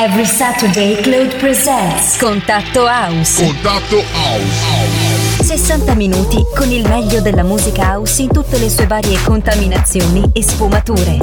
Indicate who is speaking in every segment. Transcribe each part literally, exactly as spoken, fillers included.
Speaker 1: Every Saturday Claude presents Contatto House.
Speaker 2: Contatto House.
Speaker 1: sessanta minuti con il meglio della musica house in tutte le sue varie contaminazioni e sfumature.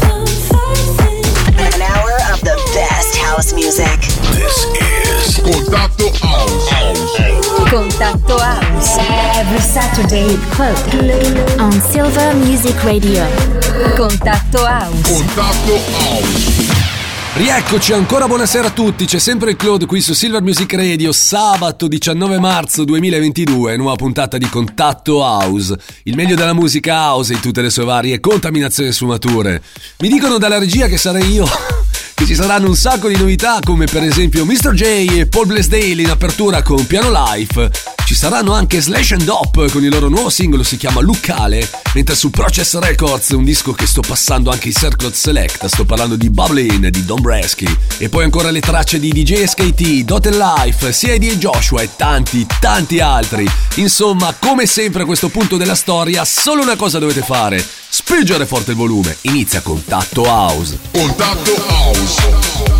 Speaker 3: An hour of the best house music.
Speaker 2: This is Contatto House.
Speaker 1: Contatto House. Every Saturday Claude on Silver Music Radio. Contatto House.
Speaker 2: Contatto House.
Speaker 4: Rieccoci ancora, buonasera a tutti, c'è sempre il Claude qui su Silver Music Radio, sabato diciannove marzo duemilaventidue, nuova puntata di Contatto House, il meglio della musica house in tutte le sue varie contaminazioni e sfumature. Mi dicono dalla regia che sarei io, che ci saranno un sacco di novità come per esempio mister J e Paul Blaisdell in apertura con Piano Life. Ci saranno anche Slash and Dop con il loro nuovo singolo, si chiama Lucale, mentre su Process Records un disco che sto passando anche in Circle Select, sto parlando di Bubbling di Don Bresky, e poi ancora le tracce di D J S K T, Dot Life, C I D e Joshua e tanti tanti altri. Insomma, come sempre a questo punto della storia solo una cosa dovete fare: spingere forte il volume. Inizia Contatto House.
Speaker 2: Contatto House.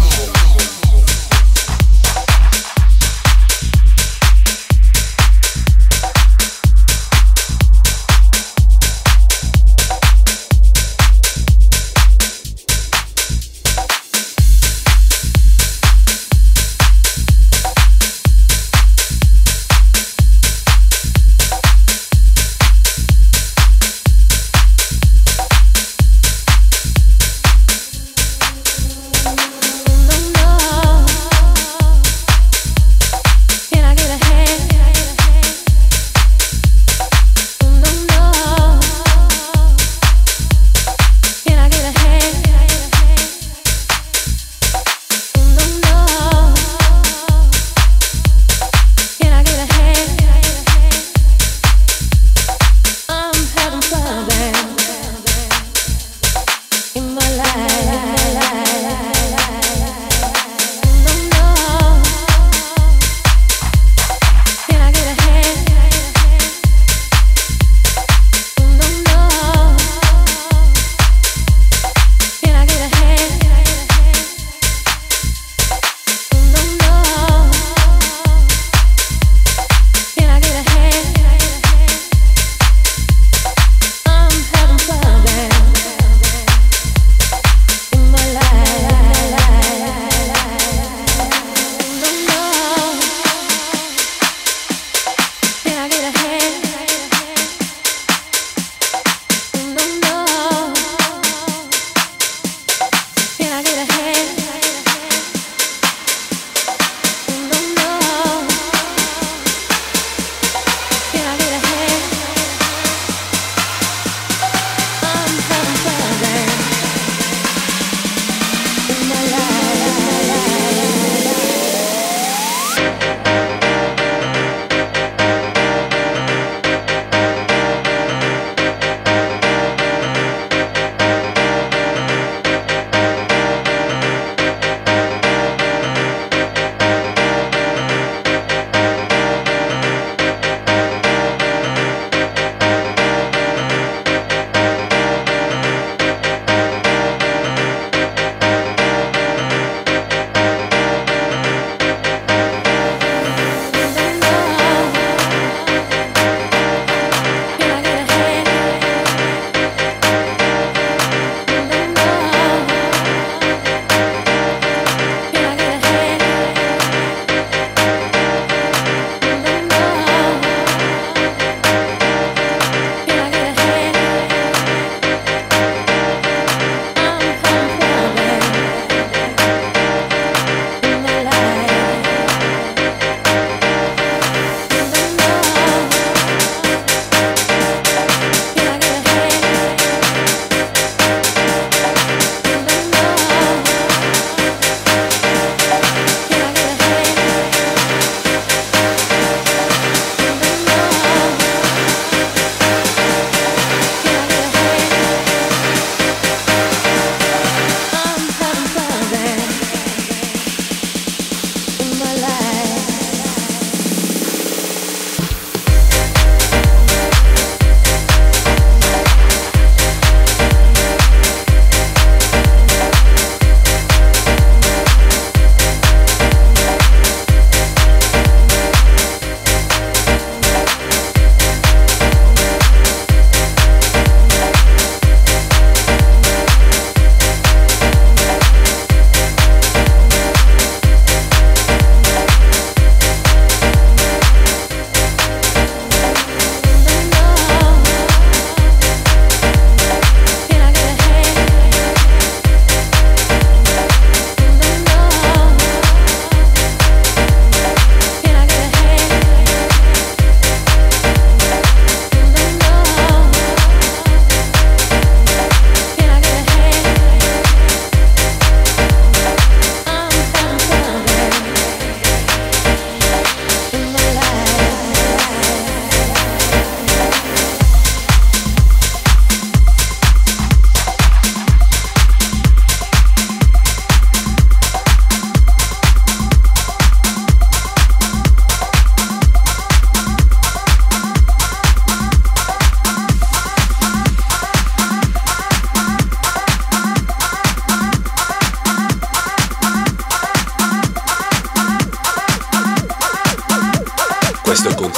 Speaker 5: No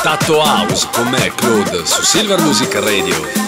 Speaker 4: Contatto House con me, Claude, su Silver Music Radio.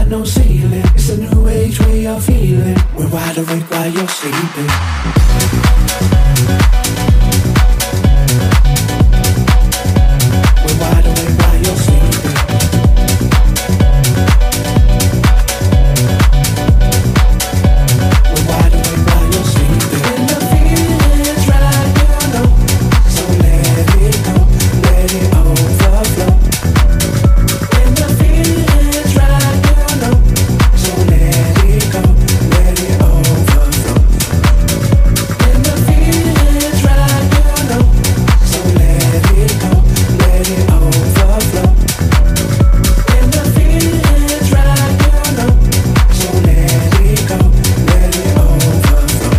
Speaker 5: got no ceiling. It's a new age way of feeling. We're wide awake while you're sleeping. We're wide awake while you're sleeping. We're wide awake while you're sleeping. When the feeling's right, you know. So let it go, let it overflow. When the feeling's right, you know. So let it go, let it overflow. When the feeling's right, you know. So let it go, let it overflow. When the feeling's right, you know. So let it go, let it overflow.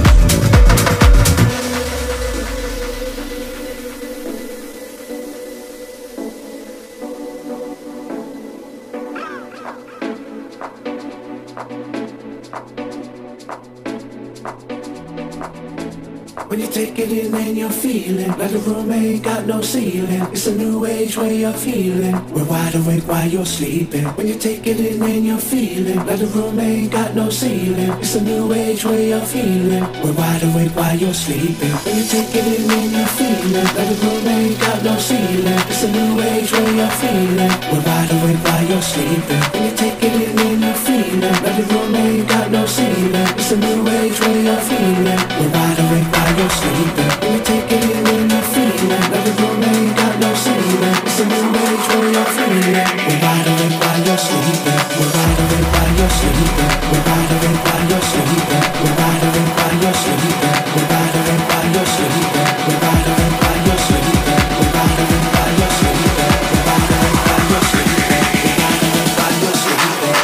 Speaker 5: When you take it in and you're feeling like the room ain't got no ceiling. It's a new age way of feeling. We're wide awake while you're sleeping. When you take it in and you're feeling like the room ain't got no ceiling. It's a new age way of feeling. We're wide awake while you're sleeping. When you take it in and you're feeling like the room ain't got no ceiling. It's a new age way of feeling. We're wide awake while you're sleeping. When you take it in and you're feeling like the room ain't got no ceiling. It's a new age way of feeling. We're wide awake while you're sleeping. When you take it in and you're feeling like the room ain't got no ceiling. It's a new age way of feeling. We're wide awake while you're sleeping. We're wide awake while you're sleeping. We're wide awake while you're sleeping. We're wide awake while you're sleeping. We're wide awake while you're sleeping. We're wide awake while you're sleeping. We're wide awake while you're sleeping. We're wide awake while you're sleeping. We're wide awake while you're sleeping.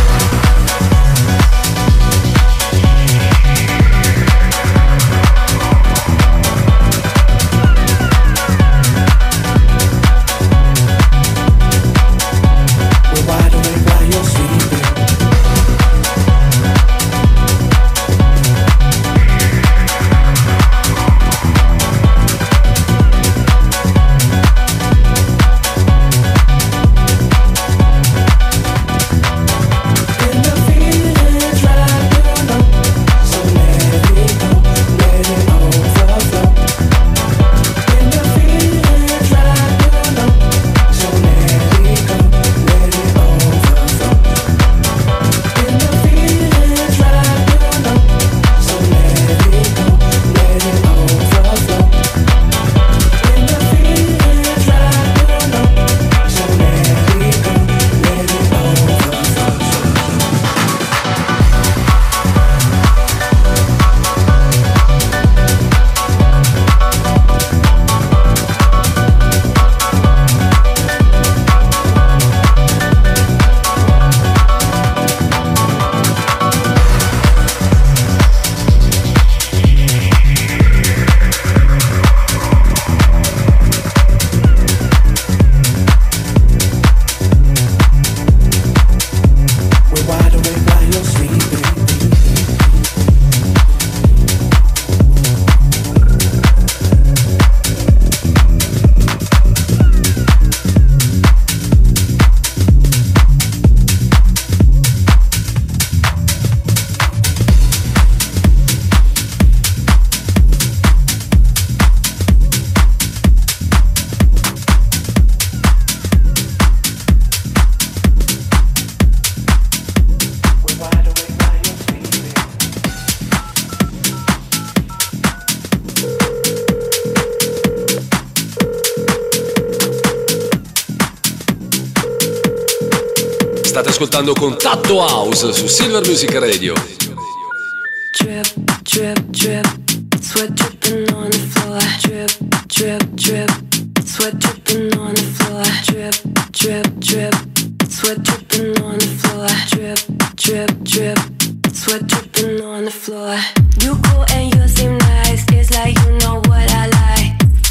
Speaker 4: State ascoltando Contatto House su Silver Music Radio.
Speaker 6: Drip, drip, drip, sweat dripping on the floor. Drip, drip, drip, sweat dripping on the floor. Drip, drip, drip, sweat dripping on the floor. Drip, drip, drip, sweat dripping on the floor. You cool and you seem nice, it's like you know what I like.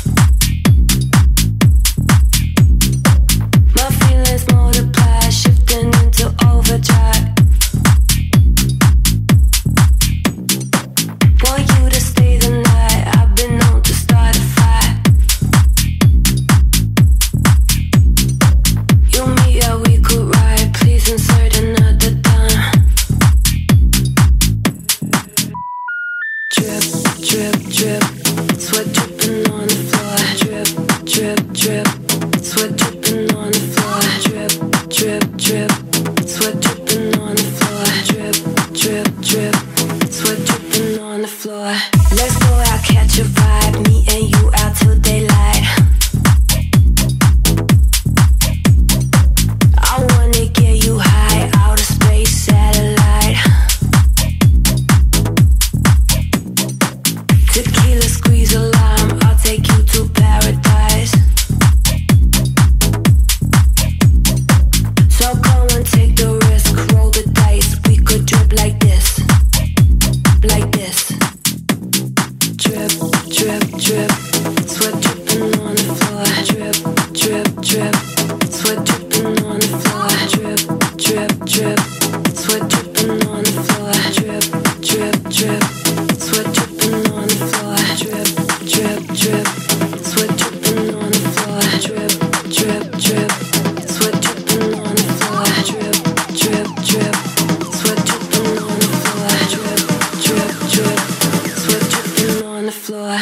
Speaker 6: My feelings multiply, shifting into overdrive. Want you to stay the night, I've been known to start a fight. You me, yeah, we could ride, please insert another drip, sweat dripping on the floor. Drip, drip, drip, sweat dripping on the floor. Drip, drip, drip, sweat dripping on the floor. Drip, drip, drip, sweat dripping on the floor. Drip, drip, drip, sweat dripping on the floor. Drip, drip, drip, sweat dripping on the floor.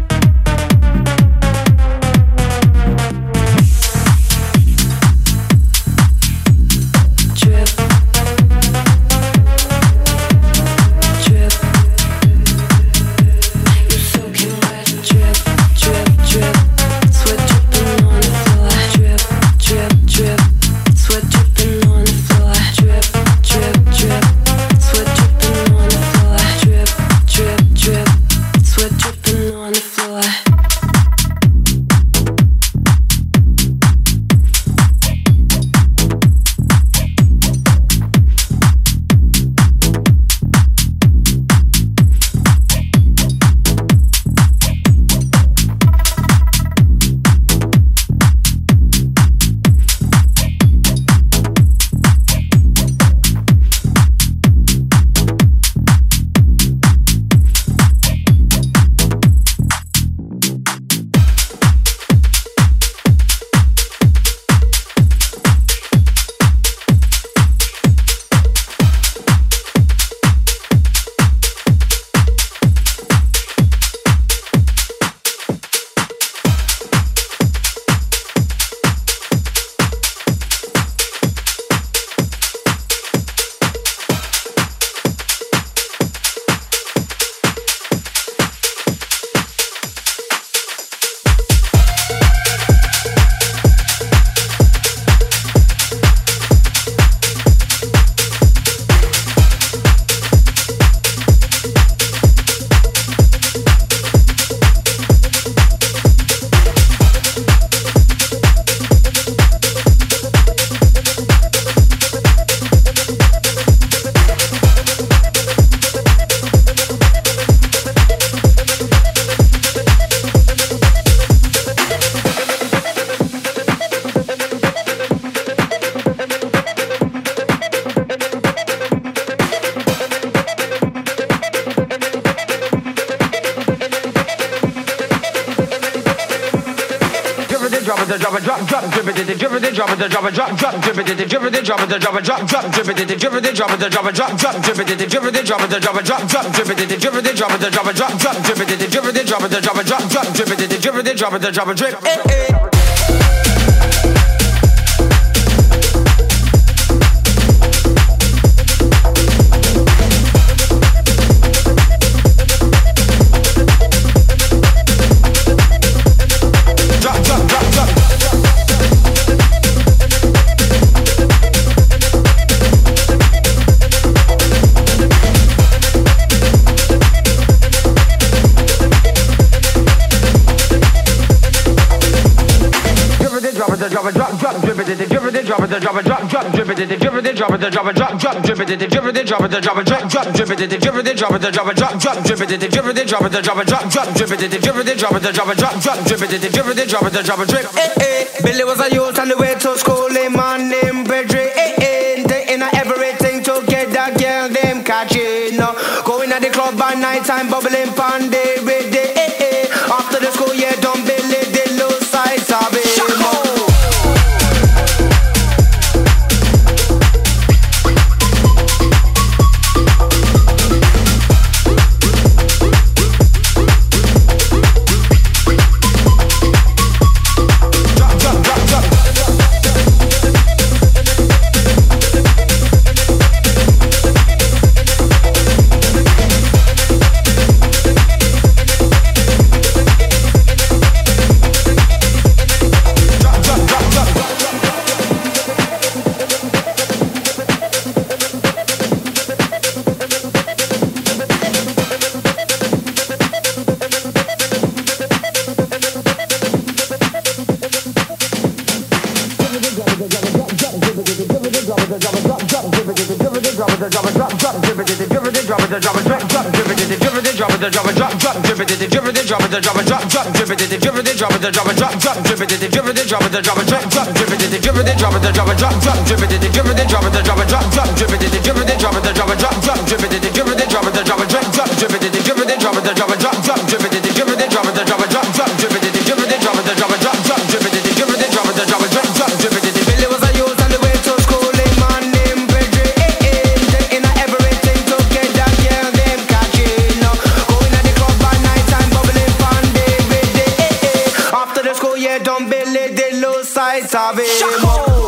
Speaker 7: drop it, drop, drop, drip it, drip it, drop it, drop it, drop, drop, drip it, drip it, drop it, drop it, drop, drop, drip it, drip it, drop it, drop it, drop, drop, drip it, drip it, drop it, drop it, drop, drop, drip it, drip it, drop it, drop it, drop, drop, drip it, drip it, drop it, drop it, drop, drop, drip it, drip it, drop it, drop it, drip. Eh eh. Drop it, drop, drop, drip it, drip it, drop it, drop it, drop, drop, drip it, drip it, drop it, drop it, drop, drop, drip it, drip it, drop it, drop it, drop, drop, drip it, drip it, drop it, drop it, drop, drop, drip it, drip it, drop it, drop it, drop, drop, drip it, drip it, drop it, drop it, drop, drop, drip it, drip it, drop it, drop it, drip. Eh eh, Billy was a youth on the way to school, him man named Pedro. Eh eh, they in everything to get that girl them catching. Going at the club by night time, bubbling pan day with the eh eh. After the school, yeah, don't Billy the low side sabe. Drop it, drop it, drop it, drop it, drop it, drop it, drop it, drop it, drop it, drop it, drop it, drop it, drop it, drop it, drop it, it, drip it, drop it, drop it, drop, drop, drip it, drip it, drop it, drop it, drop, drop, drip it, drip it, drop it, drop it, drop, drop, drip it, drip it, drop it, drop it, drop, drop, drip it, drip it, drop it, drop it, drop, drop, drip it, drip it, drop it, drop it, drop, drop, drip it, drip it, drop it, drop it, drop, drop, drip it, drip it, drop it, drop it, drop, drop, drip it, drip it, drop it, drop it, drop, drop, drip it, drip it, drop it, drop it, drop, drop, drip it, drip it, drop it, drop it, drop, drop, drip it, drip it, drop it, drop it, drop, drop, drip it, drip it, drop it, drop it, drop, drop, drip it. Billy was a youth on the way to school, him man named Pedro, in everything to get that girl them catching. Going at the club by night time, bubbling fun day with day. After the school year done, Billy did lose sight of him.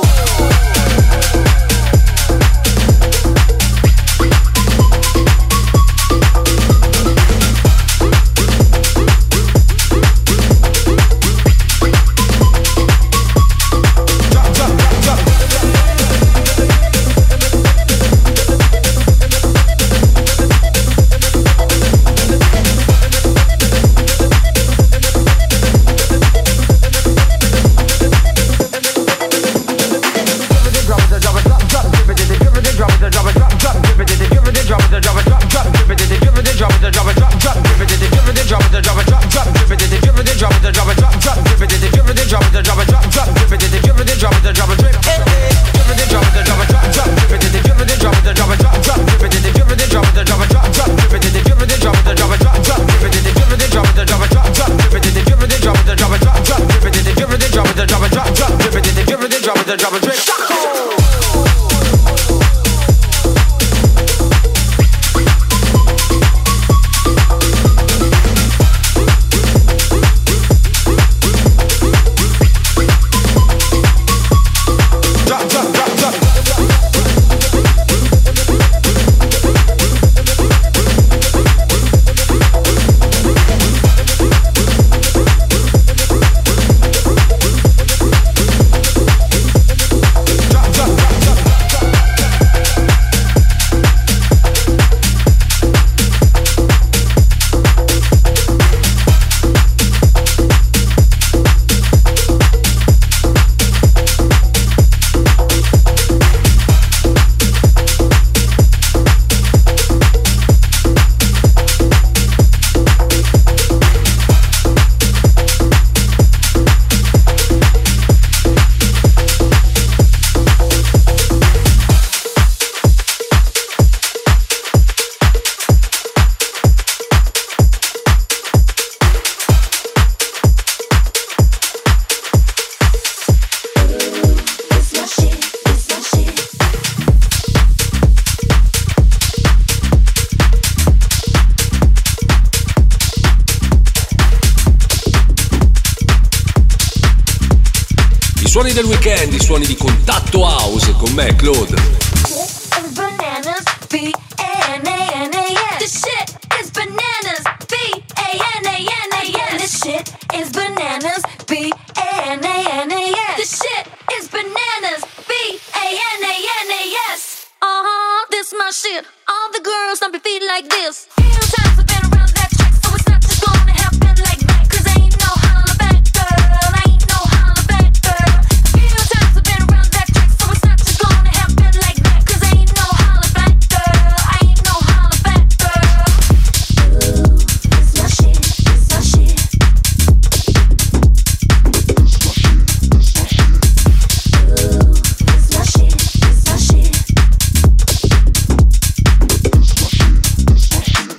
Speaker 4: Suoni del weekend, i suoni di Contatto House con me, Claude.
Speaker 6: Bananas, B A N A N A S. This shit is bananas, B A N A N A S. This shit is bananas, B A N A N A S. This shit is bananas, B A N A N A S. Uh-huh, this my shit. All the girls stomp your feet like this. Few times I've been around that track, so it's not just gonna happen like that. Cause ain't no holla back, girl. Ain't no holla back, girl. Few times I've been around that track, so it's not just gonna happen like that. Cause ain't no holla back, girl. Ain't no holla back, girl. Ooh, this my shit, this my shit. Ooh, this my shit, this my shit.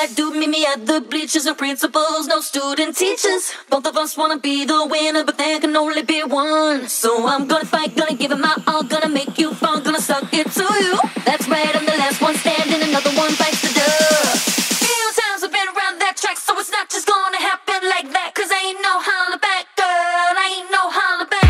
Speaker 8: black dude, meet me at the bleachers. No principals, no student teachers. Both of us wanna be the winner, but there can only be one. So I'm gonna fight, gonna give it my all, gonna make you fall, gonna suck it to you. That's right, I'm the last one standing, another one bites the dust. Few times I've been around that track, so it's not just gonna happen like that. Cause I ain't no holla back girl, I ain't no holla back.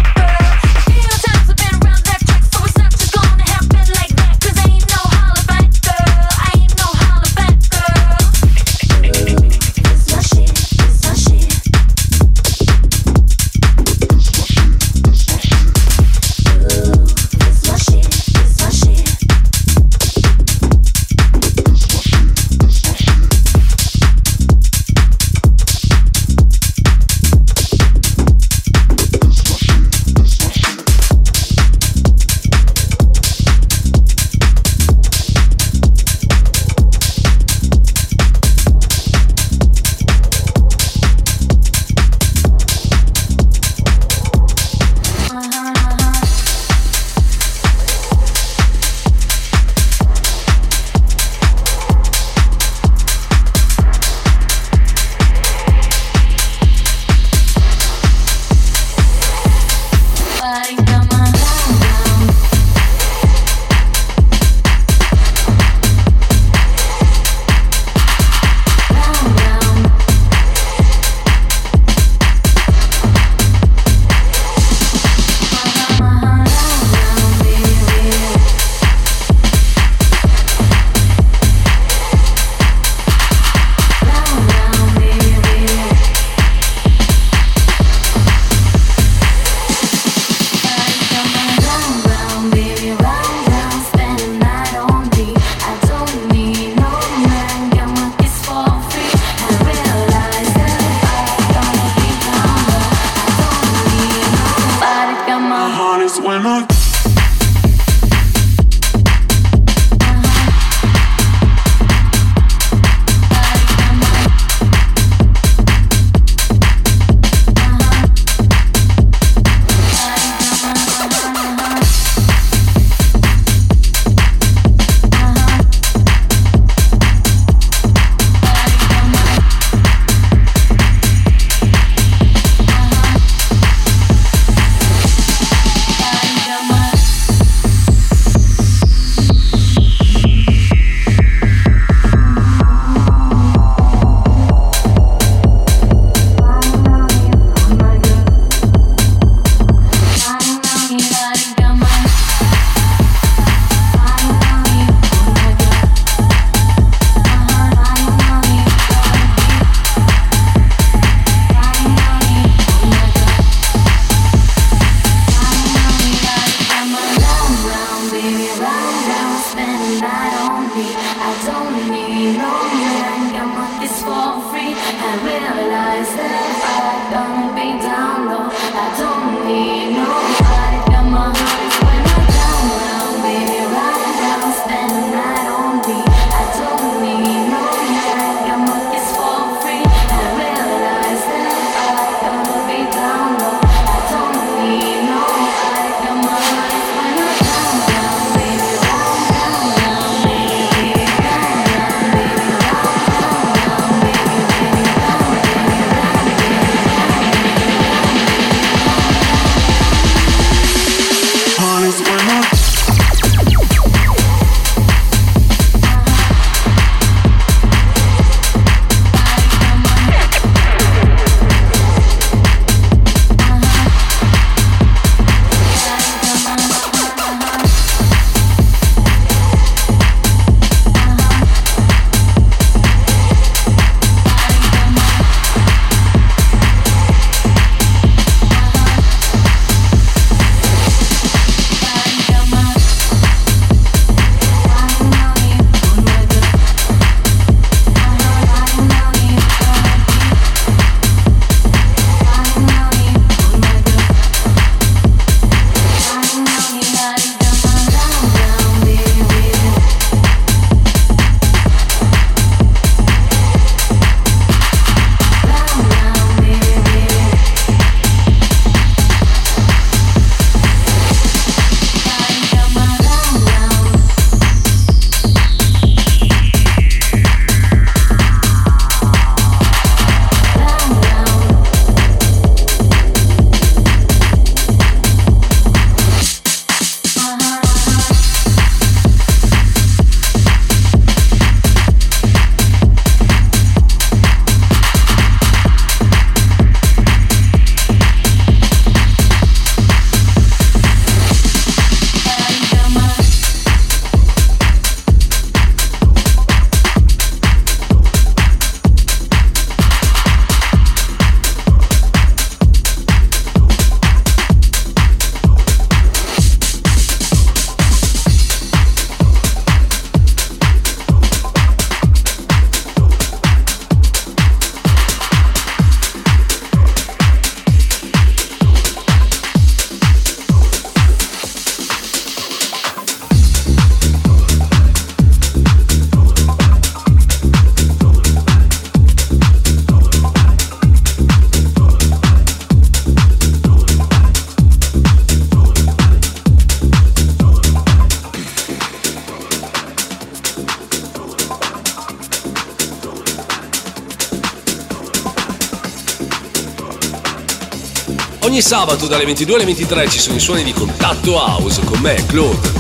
Speaker 4: Ogni sabato dalle ventidue alle ventitré ci sono i suoni di Contatto House con me, Claude.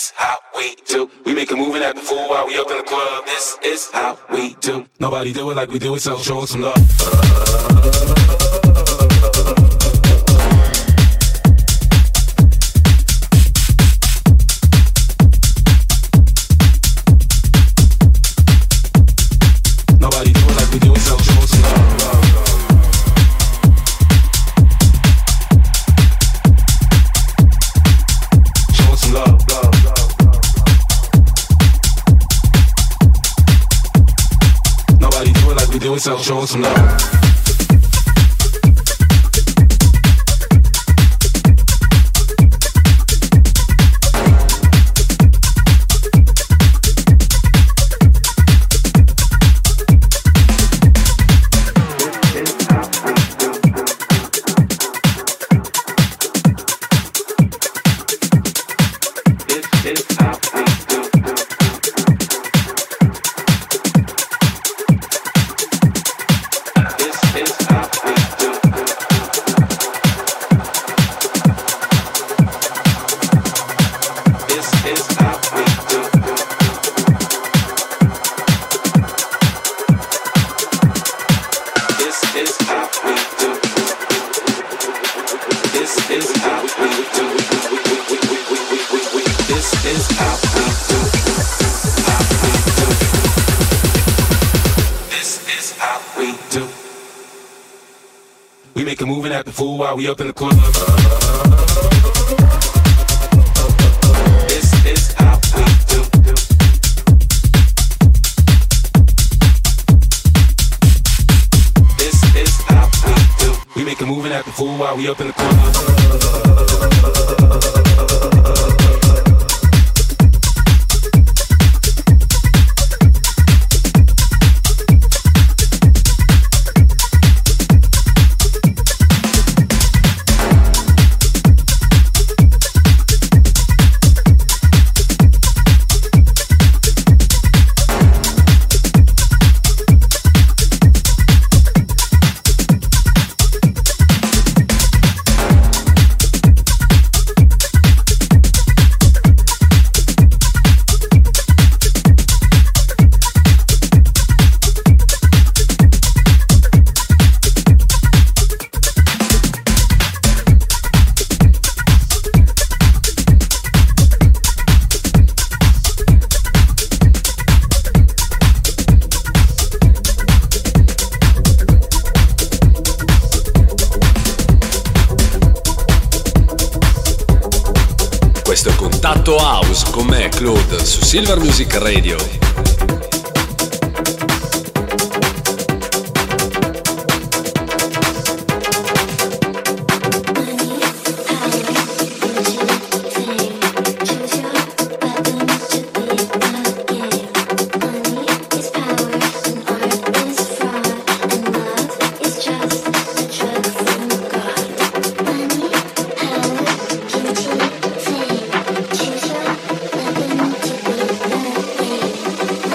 Speaker 9: is how we do. We make a move and act the fool while we up in the club. This is how we do. Nobody do it like we do it, so show us some love. So show us some love. While we up in the club. This is how we do. This is how we do. We make a move and act a fool while we up in the club.
Speaker 4: Contatto House con me, Claude, su Silver Music Radio.
Speaker 6: Choose your weapon to be the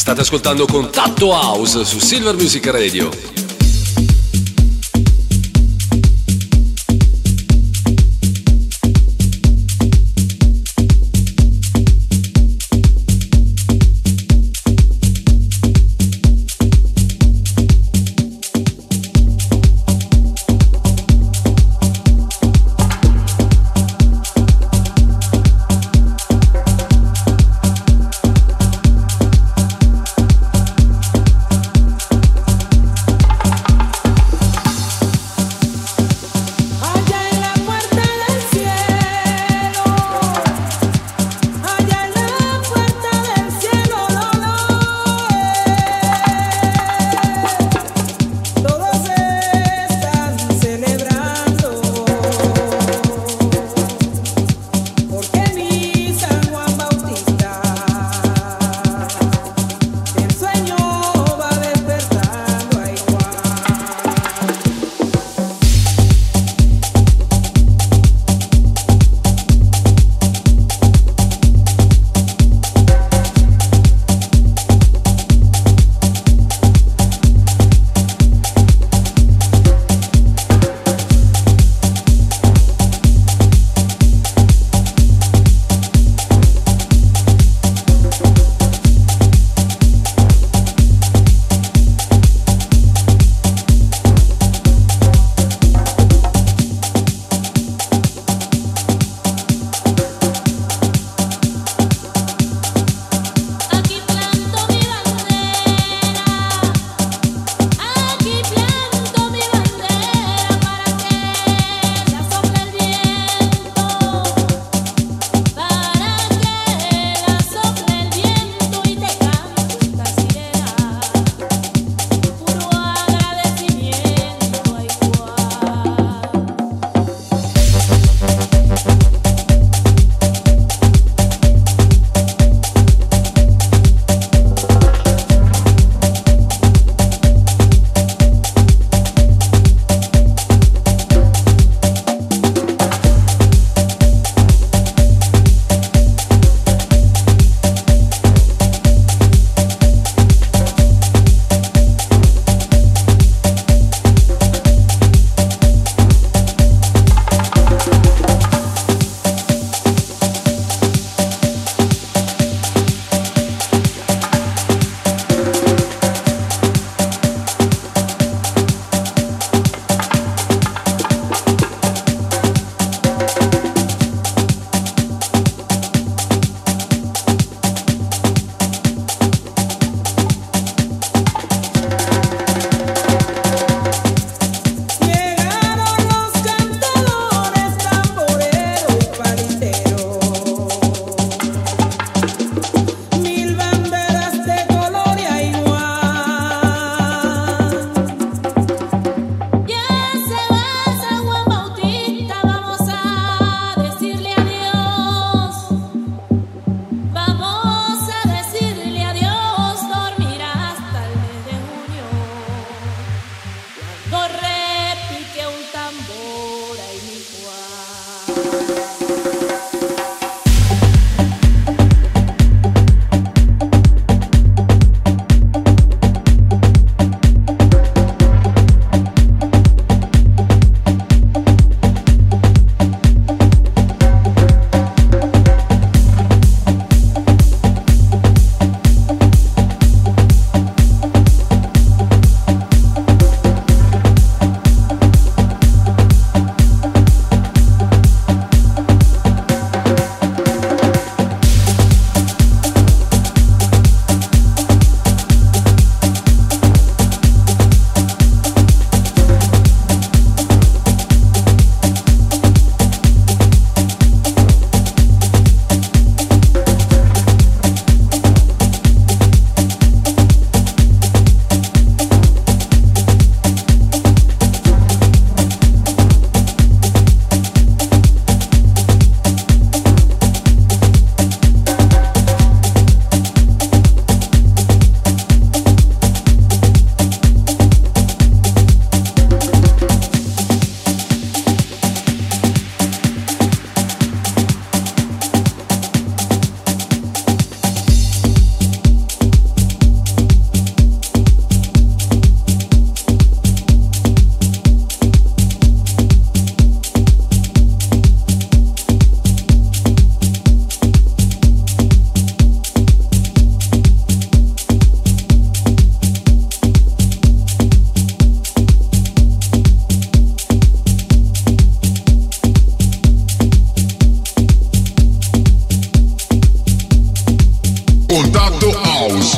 Speaker 4: State ascoltando Contatto House su Silver Music Radio.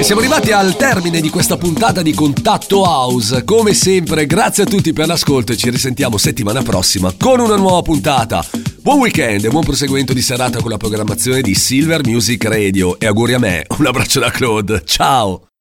Speaker 4: siamo arrivati al termine di questa puntata di Contatto House. Come sempre, grazie a tutti per l'ascolto e ci risentiamo settimana prossima con una nuova puntata. Buon weekend e buon proseguimento di serata con la programmazione di Silver Music Radio. E auguri a me, un abbraccio da Claude, ciao!